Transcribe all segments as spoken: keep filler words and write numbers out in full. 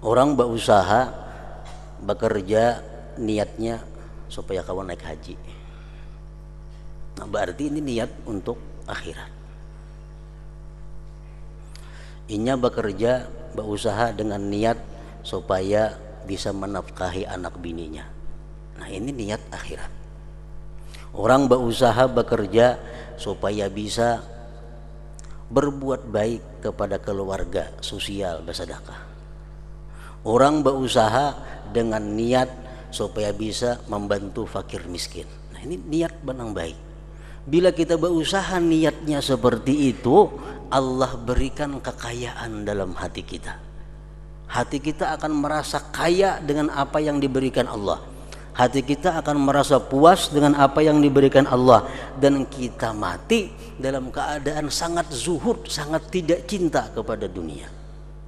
Orang berusaha bekerja niatnya supaya kawan naik haji. Nah, berarti ini niat untuk akhirat. Inya bekerja berusaha dengan niat supaya bisa menafkahi anak bininya. Nah, ini niat akhirat. Orang berusaha bekerja supaya bisa berbuat baik kepada keluarga, sosial, bersedekah. Orang berusaha dengan niat supaya bisa membantu fakir miskin. Nah, ini niat benang baik. Bila kita berusaha niatnya seperti itu, Allah berikan kekayaan dalam hati kita. Hati kita akan merasa kaya dengan apa yang diberikan Allah. Hati kita akan merasa puas dengan apa yang diberikan Allah. Dan kita mati dalam keadaan sangat zuhud, sangat tidak cinta kepada dunia.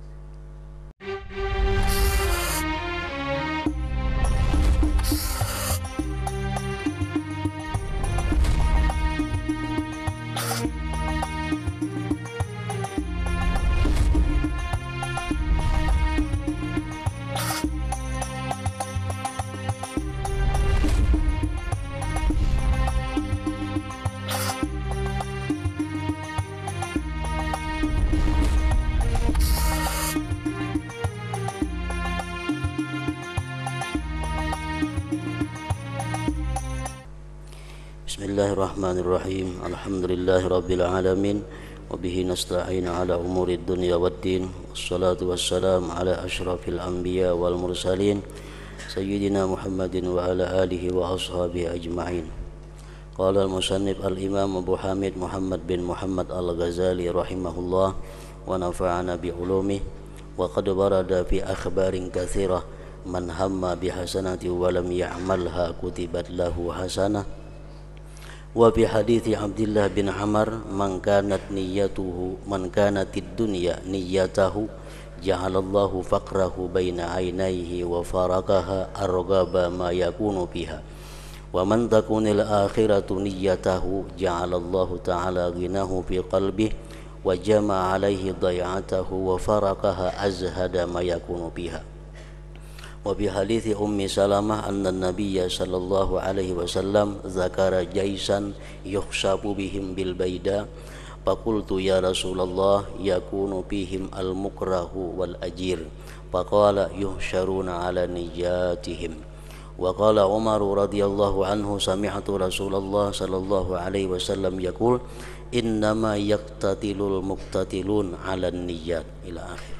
Bismillahirrahmanirrahim. Alhamdulillahi rabbil alamin. Wa bihi nasta'in ala umuri dunya waddin. Wassalatu wassalam ala asyrafil anbiya wal mursalin Sayyidina Muhammadin wa ala alihi wa ashabihi ajma'in. Qala al-musannif al-imam Abu Hamid Muhammad bin Muhammad al-Ghazali rahimahullah wa nafa'ana bi ulumih. Wa qad warada fi akhbarin katsirah man hamma bi hasanati wa lam ya'malha kutibat lahu hasanah. Wa fi hadithi Abdullah bin Amr man kanat niyyatuhu man kanatid dunya niyyatahu ja'alallahu faqrahu baina aynayhi wa faraqaha arghaba ma yakunu fiha wa man takunil akhiratu niyyatahu ja'alallahu ta'ala ghinahu fi qalbihi wa jama'a alaihi day'atahu wa faraqaha azhada ma yakunu fiha. Wa bi hadithi Ummi Salamah anna Nabiyya sallallahu alaihi wasallam zakara jaisan yukhsabu bihim bil baida faqultu ya Rasulullah yakunu bihim al mukrahu wal ajir faqala yuhsyaruna ala nijatihim. Wa qala Umar radhiyallahu anhu sami'tu Rasulullah sallallahu alaihi wasallam yaqul innama yaqtatilul muqtatilun ala niyyat ila akhir.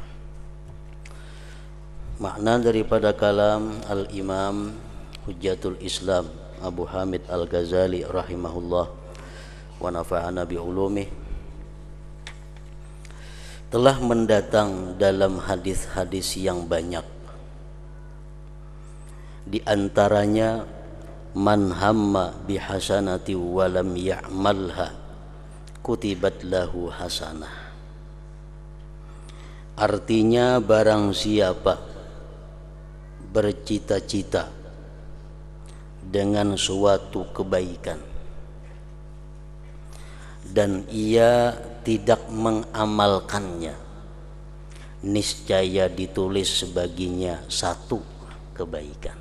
Makna daripada kalam Al-Imam Hujjatul Islam Abu Hamid Al-Ghazali rahimahullah wa nafa'ana bi ulumih, telah mendatang dalam hadis-hadis yang banyak. Di antaranya man hamma bi hasanati wa lam ya'malha kutibat lahu hasanah. Artinya barang siapa bercita-cita dengan suatu kebaikan dan ia tidak mengamalkannya, niscaya ditulis sebaginya satu kebaikan.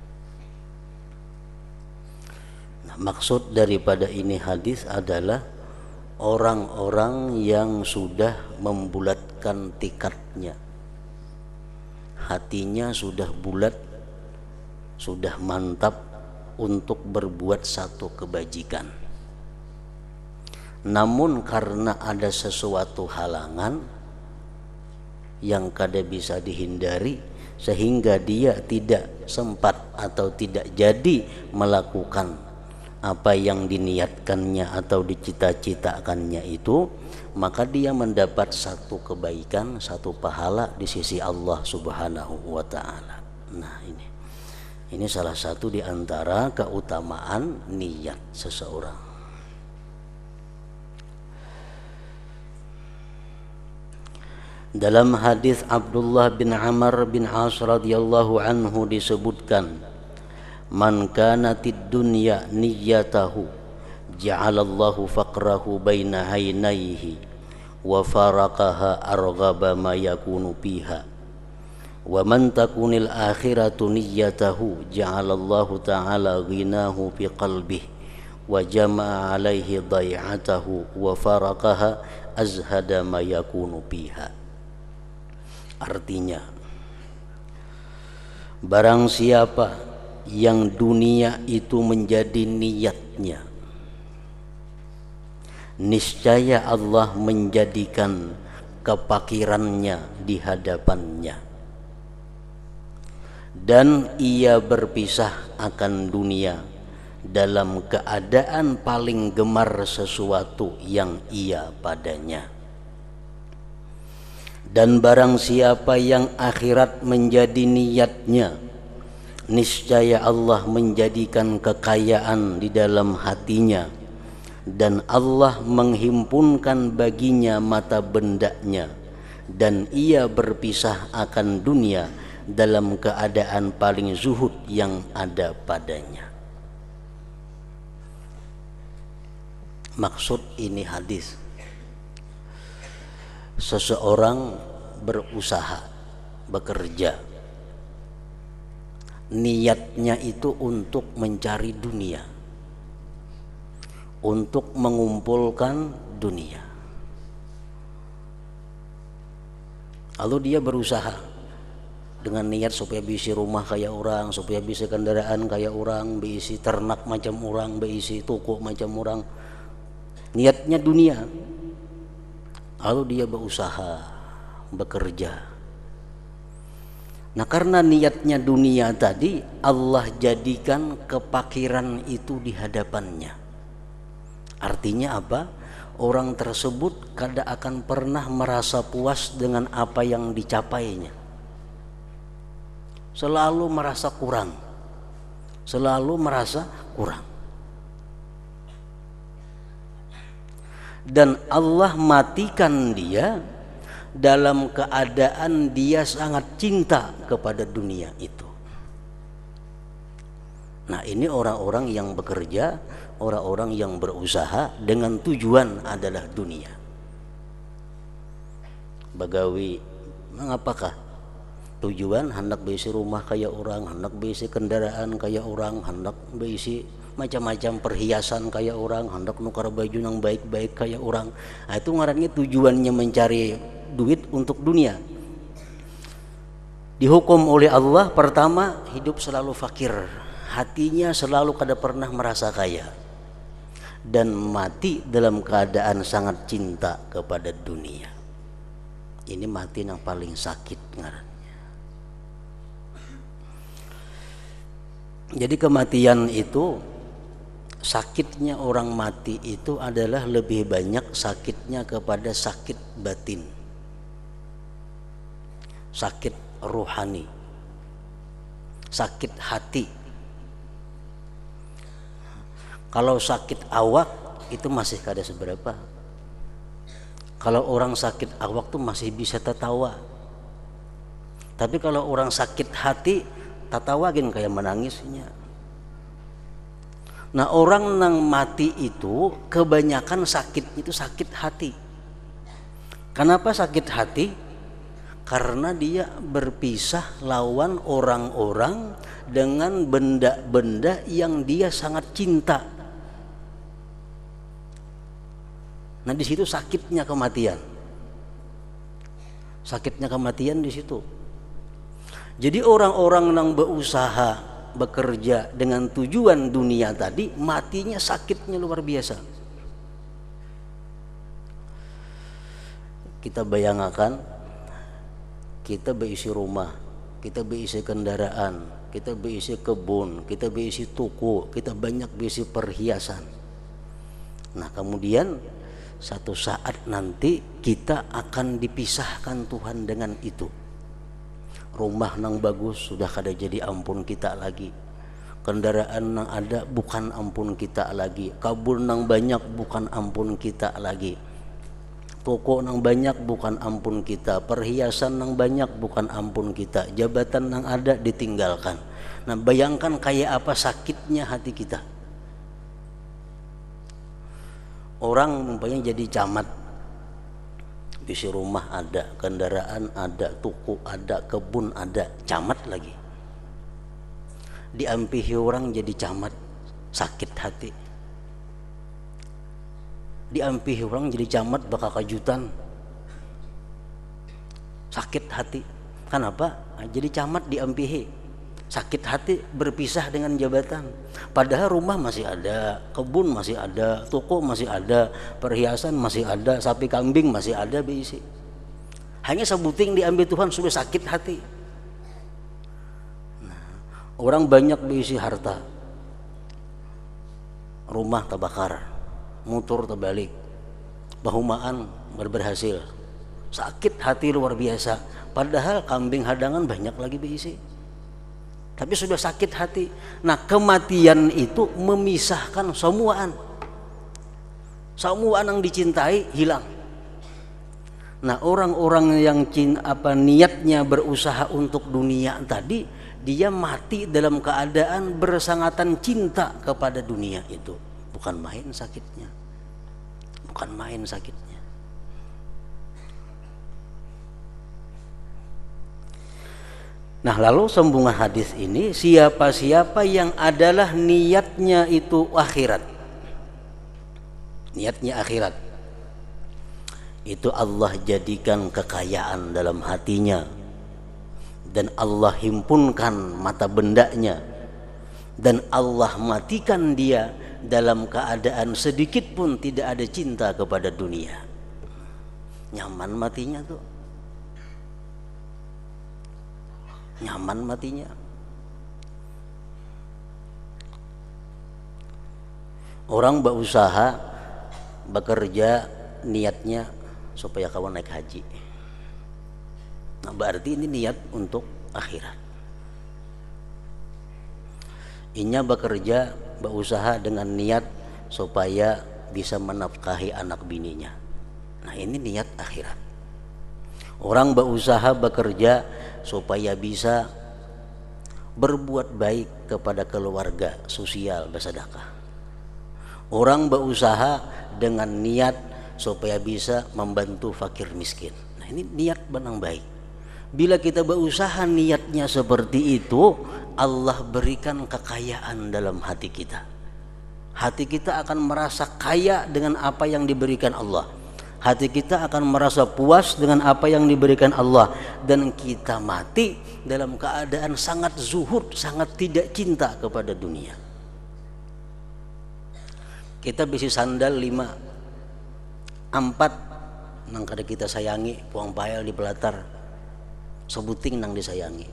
Nah, maksud daripada ini hadis adalah orang-orang yang sudah membulatkan tikadnya, hatinya sudah bulat, sudah mantap untuk berbuat satu kebajikan. Namun karena ada sesuatu halangan yang kada bisa dihindari, sehingga dia tidak sempat atau tidak jadi melakukan apa yang diniatkannya atau dicita-citakannya itu, maka dia mendapat satu kebaikan, satu pahala di sisi Allah Subhanahu wa ta'ala. Nah, ini ini salah satu di antara keutamaan niat seseorang. Dalam hadis Abdullah bin Amr bin As radhiyallahu anhu disebutkan, man kanatid dunya niyyatahu ja'alallahu faqrahu baina aynayhi wa faraqaha arghaba ma yakunu fiha Wa man takunil akhiratu niyyatahu ja'alallahu ta'ala ghinahu fi qalbihi wa jama'a alaihi dai'atahu wa faraqaha azhada ma yakunu biha. Artinya, barang siapa yang dunia itu menjadi niatnya, niscaya Allah menjadikan kepakirannya di hadapannya, dan ia berpisah akan dunia dalam keadaan paling gemar sesuatu yang ia padanya. Dan barang siapa yang akhirat menjadi niatnya, niscaya Allah menjadikan kekayaan di dalam hatinya, dan Allah menghimpunkan baginya mata bendanya, dan ia berpisah akan dunia dalam keadaan paling zuhud yang ada padanya. Maksud ini hadis, seseorang berusaha, bekerja, niatnya itu untuk mencari dunia, untuk mengumpulkan dunia. Lalu dia berusaha dengan niat supaya bisa rumah kayak orang, supaya bisa kendaraan kayak orang, bisa ternak macam orang, bisa toko macam orang. Niatnya dunia. Lalu dia berusaha, bekerja. Nah, karena niatnya dunia tadi, Allah jadikan kepakiran itu di hadapannya. Artinya apa? Orang tersebut kada akan pernah merasa puas dengan apa yang dicapainya. Selalu merasa kurang, selalu merasa kurang. Dan Allah matikan dia dalam keadaan dia sangat cinta kepada dunia itu. Nah, ini orang-orang yang bekerja, orang-orang yang berusaha dengan tujuan adalah dunia. Bagawi, mengapakah? Tujuan hendak beisi rumah kayak orang, hendak beisi kendaraan kayak orang, hendak beisi macam-macam perhiasan kayak orang, hendak nukar baju yang baik-baik kayak orang. Nah, itu ngarannya tujuannya mencari duit untuk dunia. Dihukum oleh Allah, pertama hidup selalu fakir, hatinya selalu kada pernah merasa kaya, dan mati dalam keadaan sangat cinta kepada dunia. Ini mati yang paling sakit ngarannya. Jadi kematian itu, sakitnya orang mati itu adalah lebih banyak sakitnya kepada sakit batin, sakit rohani, sakit hati. Kalau sakit awak itu masih kada seberapa. Kalau orang sakit awak tuh masih bisa tertawa. Tapi kalau orang sakit hati, tatawagin kayak menangisnya. Nah, orang yang mati itu kebanyakan sakit itu sakit hati. Kenapa sakit hati? Karena dia berpisah lawan orang-orang dengan benda-benda yang dia sangat cinta. Nah, di situ sakitnya kematian. Sakitnya kematian di situ. Jadi orang-orang yang berusaha, bekerja dengan tujuan dunia tadi, matinya sakitnya luar biasa. Kita bayangkan, kita berisi rumah, kita berisi kendaraan, kita berisi kebun, kita berisi toko, kita banyak berisi perhiasan. Nah, kemudian satu saat nanti kita akan dipisahkan Tuhan dengan itu. Rumah nang bagus sudah kada jadi ampun kita lagi, kendaraan nang ada bukan ampun kita lagi, kabun nang banyak bukan ampun kita lagi, toko nang banyak bukan ampun kita, perhiasan nang banyak bukan ampun kita, jabatan nang ada ditinggalkan. Nah, bayangkan kayak apa sakitnya hati kita. Orang umpamanya jadi camat, Isi rumah ada, kendaraan ada, tuku ada, kebun ada, camat lagi. Diampihi orang jadi camat, sakit hati. Diampihi orang jadi camat bakal kejutan, sakit hati. Kenapa? Jadi camat diampihi, sakit hati, berpisah dengan jabatan. Padahal rumah masih ada, kebun masih ada, toko masih ada, perhiasan masih ada, sapi kambing masih ada diisi. Hanya sebuting diambil Tuhan sudah sakit hati. Nah, orang banyak diisi harta, rumah terbakar, motor terbalik, bahumaan berhasil, sakit hati luar biasa. Padahal kambing hadangan banyak lagi diisi, tapi sudah sakit hati. Nah, kematian itu memisahkan semuaan. Semuaan yang dicintai hilang. Nah, orang-orang yang cin, apa niatnya berusaha untuk dunia tadi, dia mati dalam keadaan bersangatan cinta kepada dunia itu. Bukan main sakitnya. Bukan main sakitnya. Nah, lalu sambungan hadis ini, siapa-siapa yang adalah niatnya itu akhirat, niatnya akhirat, itu Allah jadikan kekayaan dalam hatinya, dan Allah himpunkan mata bendanya, dan Allah matikan dia dalam keadaan sedikit pun tidak ada cinta kepada dunia. Nyaman matinya tuh, nyaman matinya. Orang berusaha bekerja niatnya supaya kawan naik haji. Nah, berarti ini niat untuk akhirat. Inya bekerja berusaha dengan niat supaya bisa menafkahi anak bininya. Nah, ini niat akhirat. Orang berusaha bekerja supaya bisa berbuat baik kepada keluarga, sosial, bersedekah. Orang berusaha dengan niat supaya bisa membantu fakir miskin. Nah, ini niat benang baik. Bila kita berusaha niatnya seperti itu, Allah berikan kekayaan dalam hati kita. Hati kita akan merasa kaya dengan apa yang diberikan Allah. Hati kita akan merasa puas dengan apa yang diberikan Allah, dan kita mati dalam keadaan sangat zuhud, sangat tidak cinta kepada dunia. Kita bisi sandal lima, empat nang kada kita sayangi, puang payal di pelatar, sebuting nang disayangi.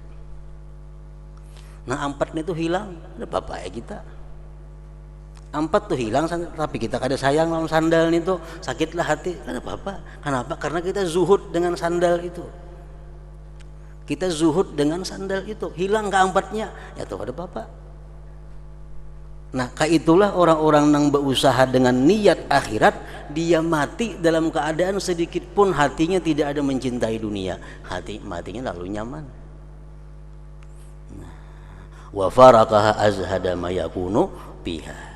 Nah, empat itu hilang, ada apa ya kita? Empat tuh hilang, tapi kita kada sayang lawan sandal itu, sakitlah hati. Kenapa apa? Kenapa? Karena kita zuhud dengan sandal itu. Kita zuhud dengan sandal itu, hilang keempatnya, ya tuh ada apa? Nah, kaitulah orang-orang yang berusaha dengan niat akhirat, dia mati dalam keadaan sedikit pun hatinya tidak ada mencintai dunia. Hati matinya lalu nyaman. Wa faraqaha azhada ma yakunu biha.